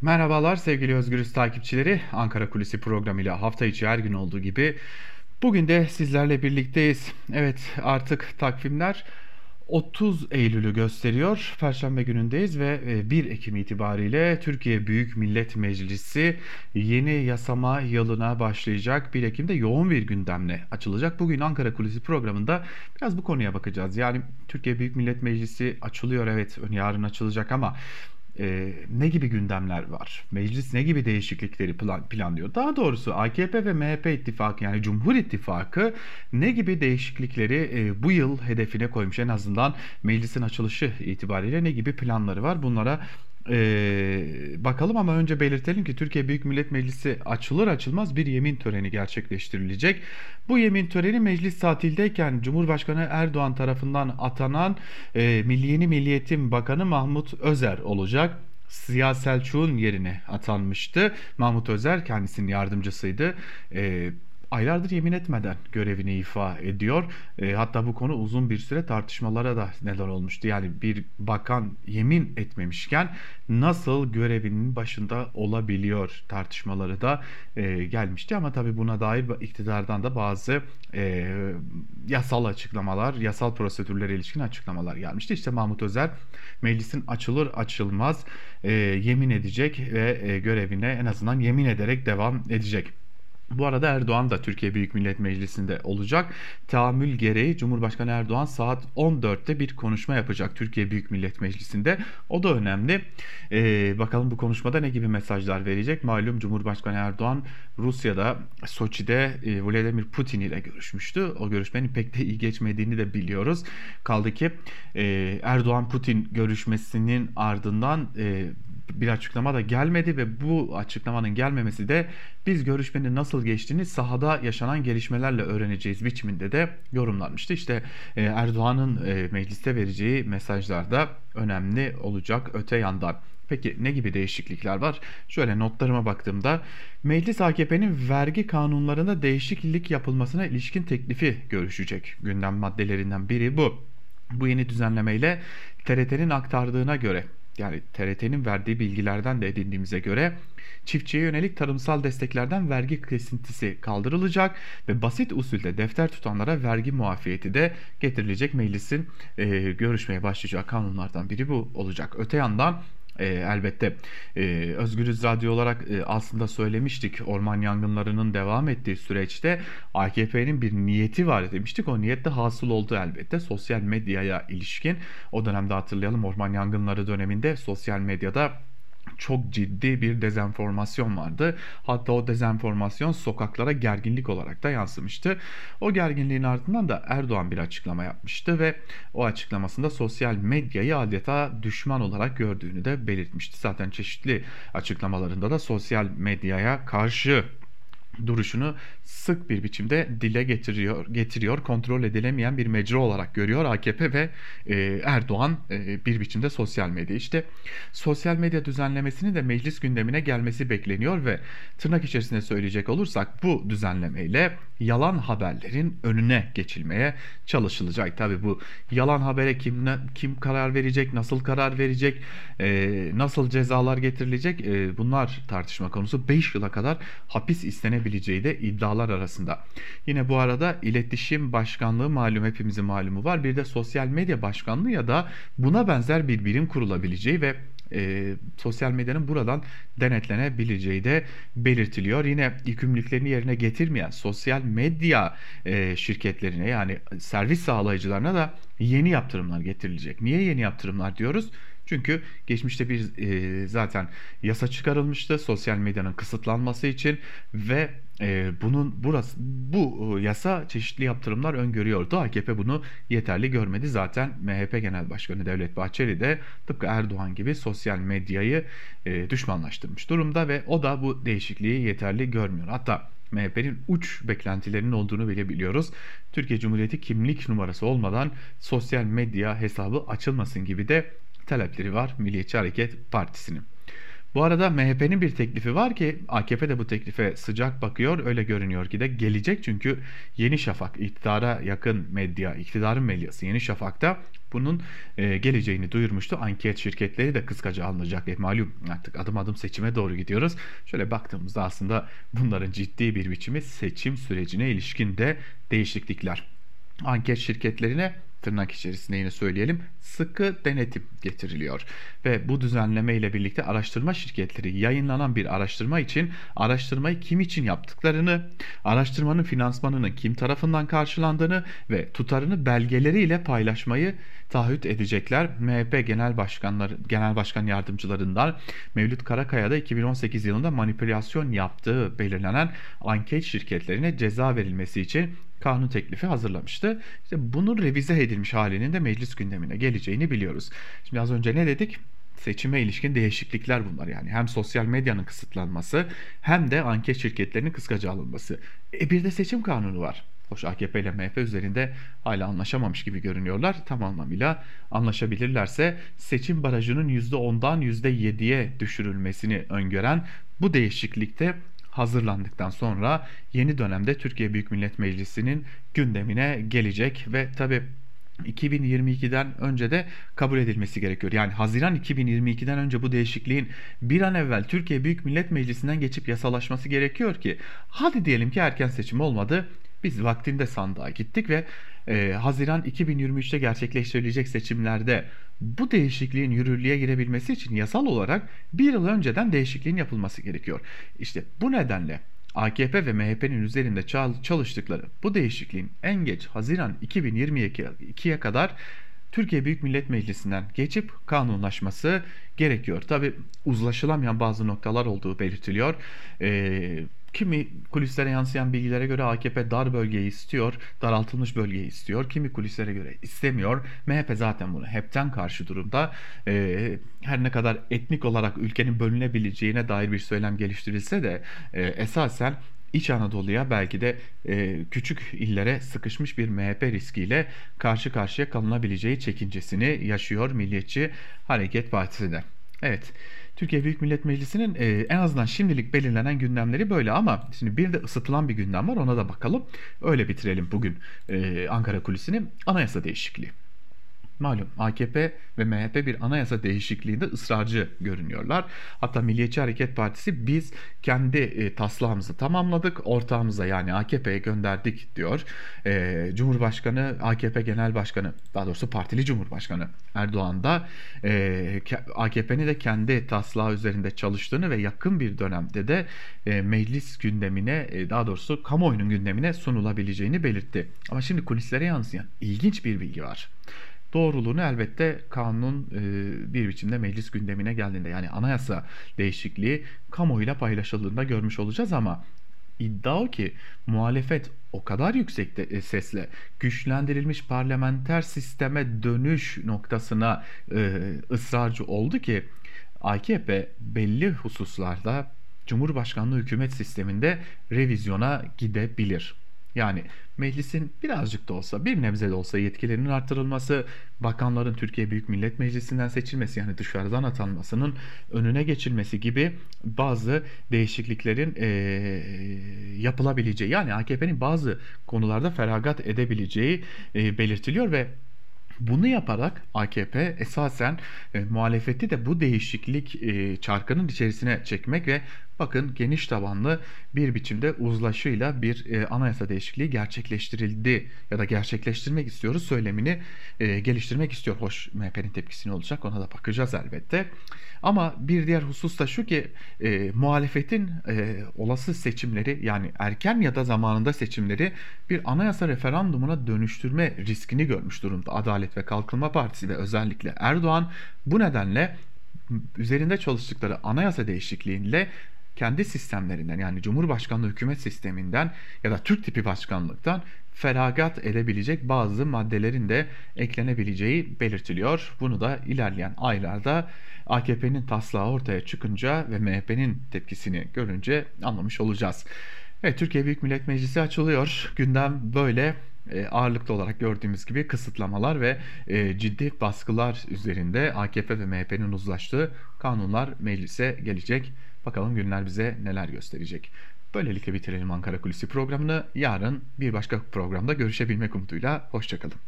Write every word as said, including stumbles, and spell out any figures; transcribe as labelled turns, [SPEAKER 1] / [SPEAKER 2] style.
[SPEAKER 1] Merhabalar sevgili Özgürüz takipçileri. Ankara Kulisi programıyla hafta içi her gün olduğu gibi bugün de sizlerle birlikteyiz. Evet, artık takvimler otuz Eylül'ü gösteriyor. Perşembe günündeyiz ve e, bir Ekim itibariyle Türkiye Büyük Millet Meclisi yeni yasama yılına başlayacak. bir Ekim'de yoğun bir gündemle açılacak. Bugün Ankara Kulisi programında biraz bu konuya bakacağız. Yani Türkiye Büyük Millet Meclisi açılıyor, evet, yarın açılacak ama e, ne gibi gündemler var? Meclis ne gibi değişiklikleri plan, planlıyor? Daha doğrusu A K P ve M H P ittifakı, yani Cumhur İttifakı ne gibi değişiklikleri e, bu yıl hedefine koymuş? En azından meclisin açılışı itibariyle ne gibi planları var? Bunlara e, bakalım ama önce belirtelim ki Türkiye Büyük Millet Meclisi açılır açılmaz bir yemin töreni gerçekleştirilecek. Bu yemin töreni meclis tatildeyken Cumhurbaşkanı Erdoğan tarafından atanan e, Milli Yeni Milliyetin Bakanı Mahmut Özer olacak. Ziya Selçuk'un yerine atanmıştı. Mahmut Özer kendisinin yardımcısıydı. E, Aylardır yemin etmeden görevini ifa ediyor. E, hatta bu konu uzun bir süre tartışmalara da neden olmuştu. Yani bir bakan yemin etmemişken nasıl görevinin başında olabiliyor tartışmaları da e, gelmişti. Ama tabii buna dair iktidardan da bazı e, yasal açıklamalar, yasal prosedürlere ilişkin açıklamalar gelmişti. İşte Mahmut Özer meclisin açılır açılmaz e, yemin edecek ve e, görevine en azından yemin ederek devam edecek. Bu arada Erdoğan da Türkiye Büyük Millet Meclisi'nde olacak. Tahammül gereği Cumhurbaşkanı Erdoğan saat on dörtte bir konuşma yapacak Türkiye Büyük Millet Meclisi'nde. O da önemli. Ee, bakalım bu konuşmada ne gibi mesajlar verecek? Malum Cumhurbaşkanı Erdoğan Rusya'da, Soçi'de e, Vladimir Putin ile görüşmüştü. O görüşmenin pek de iyi geçmediğini de biliyoruz. Kaldı ki e, Erdoğan-Putin görüşmesinin ardından e, bir açıklama da gelmedi ve bu açıklamanın gelmemesi de biz görüşmenin nasıl geçtiğini sahada yaşanan gelişmelerle öğreneceğiz biçiminde de yorumlanmıştı. İşte e, Erdoğan'ın e, mecliste vereceği mesajlar da önemli olacak öte yandan. Peki ne gibi değişiklikler var? Şöyle notlarıma baktığımda meclis A K P'nin vergi kanunlarında değişiklik yapılmasına ilişkin teklifi görüşecek. Gündem maddelerinden biri bu. Bu yeni düzenlemeyle T R T'nin aktardığına göre, yani T R T'nin verdiği bilgilerden de edindiğimize göre çiftçiye yönelik tarımsal desteklerden vergi kesintisi kaldırılacak ve basit usulde defter tutanlara vergi muafiyeti de getirilecek. Meclisin e, görüşmeye başlayacağı kanunlardan biri bu olacak. Öte yandan e, elbette e, Özgürüz Radyo olarak e, aslında söylemiştik, orman yangınlarının devam ettiği süreçte A K P'nin bir niyeti var demiştik. O niyet de hasıl oldu elbette. Sosyal medyaya ilişkin, o dönemde hatırlayalım, orman yangınları döneminde sosyal medyada çok ciddi bir dezenformasyon vardı. Hatta o dezenformasyon sokaklara gerginlik olarak da yansımıştı. O gerginliğin ardından da Erdoğan bir açıklama yapmıştı ve o açıklamasında sosyal medyayı adeta düşman olarak gördüğünü de belirtmişti. Zaten çeşitli açıklamalarında da sosyal medyaya karşı duruşunu sık bir biçimde dile getiriyor, getiriyor. Kontrol edilemeyen bir mecra olarak görüyor A K P ve e, Erdoğan e, bir biçimde sosyal medya. İşte sosyal medya düzenlemesinin de meclis gündemine gelmesi bekleniyor ve tırnak içerisinde söyleyecek olursak bu düzenlemeyle yalan haberlerin önüne geçilmeye çalışılacak. Tabii bu yalan habere kim ne, kim karar verecek, nasıl karar verecek, e, nasıl cezalar getirilecek, e, bunlar tartışma konusu. beş yıla kadar hapis istenebileceği de iddialar arasında. Yine bu arada iletişim başkanlığı, malum hepimizin malumu var. Bir de sosyal medya başkanlığı ya da buna benzer bir birim kurulabileceği ve e, sosyal medyanın buradan denetlenebileceği de belirtiliyor. Yine yükümlülüklerini yerine getirmeyen sosyal medya e, şirketlerine, yani servis sağlayıcılarına da yeni yaptırımlar getirilecek. Niye yeni yaptırımlar diyoruz? Çünkü geçmişte bir e, zaten yasa çıkarılmıştı sosyal medyanın kısıtlanması için ve e, bunun burası bu yasa çeşitli yaptırımlar öngörüyordu. A K P bunu yeterli görmedi. Zaten M H P Genel Başkanı Devlet Bahçeli de tıpkı Erdoğan gibi sosyal medyayı e, düşmanlaştırmış durumda ve o da bu değişikliği yeterli görmüyor. Hatta M H P'nin uç beklentilerinin olduğunu bile biliyoruz. Türkiye Cumhuriyeti kimlik numarası olmadan sosyal medya hesabı açılmasın gibi de talepleri var Milliyetçi Hareket Partisi'nin. Bu arada M H P'nin bir teklifi var ki A K P de bu teklife sıcak bakıyor. Öyle görünüyor ki de gelecek, çünkü Yeni Şafak, iktidara yakın medya, iktidarın medyası Yeni Şafak'ta bunun e, geleceğini duyurmuştu. Anket şirketleri de kıskaca alınacak. E, malum artık adım adım seçime doğru gidiyoruz. Şöyle baktığımızda aslında bunların ciddi bir biçimi seçim sürecine ilişkin de değişiklikler. Anket şirketlerine, tırnak içerisinde yine söyleyelim, sıkı denetim getiriliyor. Ve bu düzenleme ile birlikte araştırma şirketleri yayınlanan bir araştırma için araştırmayı kim için yaptıklarını, araştırmanın finansmanının kim tarafından karşılandığını ve tutarını belgeleriyle paylaşmayı taahhüt edecekler. M H P Genel Başkanları, Genel Başkan Yardımcılarından Mevlüt Karakaya da iki bin on sekiz yılında manipülasyon yaptığı belirlenen anket şirketlerine ceza verilmesi için kanun teklifi hazırlamıştı. İşte bunun revize edilmiş halinin de meclis gündemine geleceğini biliyoruz. Şimdi az önce ne dedik? Seçime ilişkin değişiklikler bunlar yani. Hem sosyal medyanın kısıtlanması hem de anket şirketlerinin kıskaca alınması. E bir de seçim kanunu var. Hoş A K P ile M H P üzerinde hala anlaşamamış gibi görünüyorlar. Tam anlamıyla anlaşabilirlerse seçim barajının yüzde ondan yüzde yediye düşürülmesini öngören bu değişiklikte hazırlandıktan sonra yeni dönemde Türkiye Büyük Millet Meclisi'nin gündemine gelecek ve tabii iki bin yirmi ikiden önce de kabul edilmesi gerekiyor. Yani Haziran iki bin yirmi ikiden önce bu değişikliğin bir an evvel Türkiye Büyük Millet Meclisi'nden geçip yasalaşması gerekiyor ki, hadi diyelim ki erken seçim olmadı. Biz vaktinde sandığa gittik ve e, Haziran iki bin yirmi üçte gerçekleştirilecek seçimlerde bu değişikliğin yürürlüğe girebilmesi için yasal olarak bir yıl önceden değişikliğin yapılması gerekiyor. İşte bu nedenle A K P ve M H P'nin üzerinde çalıştıkları bu değişikliğin en geç Haziran iki bin yirmi ikiye kadar Türkiye Büyük Millet Meclisi'nden geçip kanunlaşması gerekiyor. Tabi uzlaşılamayan bazı noktalar olduğu belirtiliyor. Ee, Kimi kulislere yansıyan bilgilere göre A K P dar bölgeyi istiyor, daraltılmış bölgeyi istiyor. Kimi kulislere göre istemiyor. M H P zaten bunu hepten karşı durumda. Ee, her ne kadar etnik olarak ülkenin bölünebileceğine dair bir söylem geliştirilse de e, esasen İç Anadolu'ya, belki de e, küçük illere sıkışmış bir M H P riskiyle karşı karşıya kalınabileceği çekincesini yaşıyor Milliyetçi Hareket Partisi de. Evet, Türkiye Büyük Millet Meclisi'nin e, en azından şimdilik belirlenen gündemleri böyle, ama şimdi bir de ısıtılan bir gündem var, ona da bakalım. Öyle bitirelim bugün e, Ankara Kulisi'ni. Anayasa değişikliği. Malum A K P ve M H P bir anayasa değişikliğinde ısrarcı görünüyorlar. Hatta Milliyetçi Hareket Partisi biz kendi e, taslağımızı tamamladık, ortağımıza yani A K P'ye gönderdik diyor. E, Cumhurbaşkanı, A K P Genel Başkanı, daha doğrusu partili Cumhurbaşkanı Erdoğan da e, A K P'nin de kendi taslağı üzerinde çalıştığını ve yakın bir dönemde de e, meclis gündemine, e, daha doğrusu kamuoyunun gündemine sunulabileceğini belirtti. Ama şimdi kulislere yansıyan ilginç bir bilgi var. Doğruluğunu elbette kanun e, bir biçimde meclis gündemine geldiğinde, yani anayasa değişikliği kamuoyuyla paylaşıldığında görmüş olacağız, ama iddia o ki muhalefet o kadar yüksek de, e, sesle güçlendirilmiş parlamenter sisteme dönüş noktasına e, ısrarcı oldu ki A K P belli hususlarda Cumhurbaşkanlığı hükümet sisteminde revizyona gidebilir. Yani meclisin birazcık da olsa, bir nebze de olsa yetkilerinin artırılması, bakanların Türkiye Büyük Millet Meclisi'nden seçilmesi, yani dışarıdan atanmasının önüne geçilmesi gibi bazı değişikliklerin e, yapılabileceği, yani A K P'nin bazı konularda feragat edebileceği e, belirtiliyor ve bunu yaparak A K P esasen e, muhalefeti de bu değişiklik e, çarkının içerisine çekmek ve bakın geniş tabanlı bir biçimde uzlaşıyla bir e, anayasa değişikliği gerçekleştirildi ya da gerçekleştirmek istiyoruz söylemini e, geliştirmek istiyor. Hoş, M H P'nin tepkisi ne olacak, ona da bakacağız elbette. Ama bir diğer husus da şu ki e, muhalefetin e, olası seçimleri, yani erken ya da zamanında seçimleri bir anayasa referandumuna dönüştürme riskini görmüş durumda Adalet ve Kalkınma Partisi ve özellikle Erdoğan. Bu nedenle üzerinde çalıştıkları anayasa değişikliğiyle kendi sistemlerinden, yani Cumhurbaşkanlığı hükümet sisteminden ya da Türk tipi başkanlıktan feragat edebilecek bazı maddelerin de eklenebileceği belirtiliyor. Bunu da ilerleyen aylarda A K P'nin taslağı ortaya çıkınca ve M H P'nin tepkisini görünce anlamış olacağız. Evet, Türkiye Büyük Millet Meclisi açılıyor. Gündem böyle. e, ağırlıklı olarak gördüğümüz gibi kısıtlamalar ve e, ciddi baskılar üzerinde A K P ve M H P'nin uzlaştığı kanunlar meclise gelecek. Bakalım günler bize neler gösterecek. Böylelikle bitirelim Ankara Kulisi programını. Yarın bir başka programda görüşebilmek umuduyla. Hoşçakalın.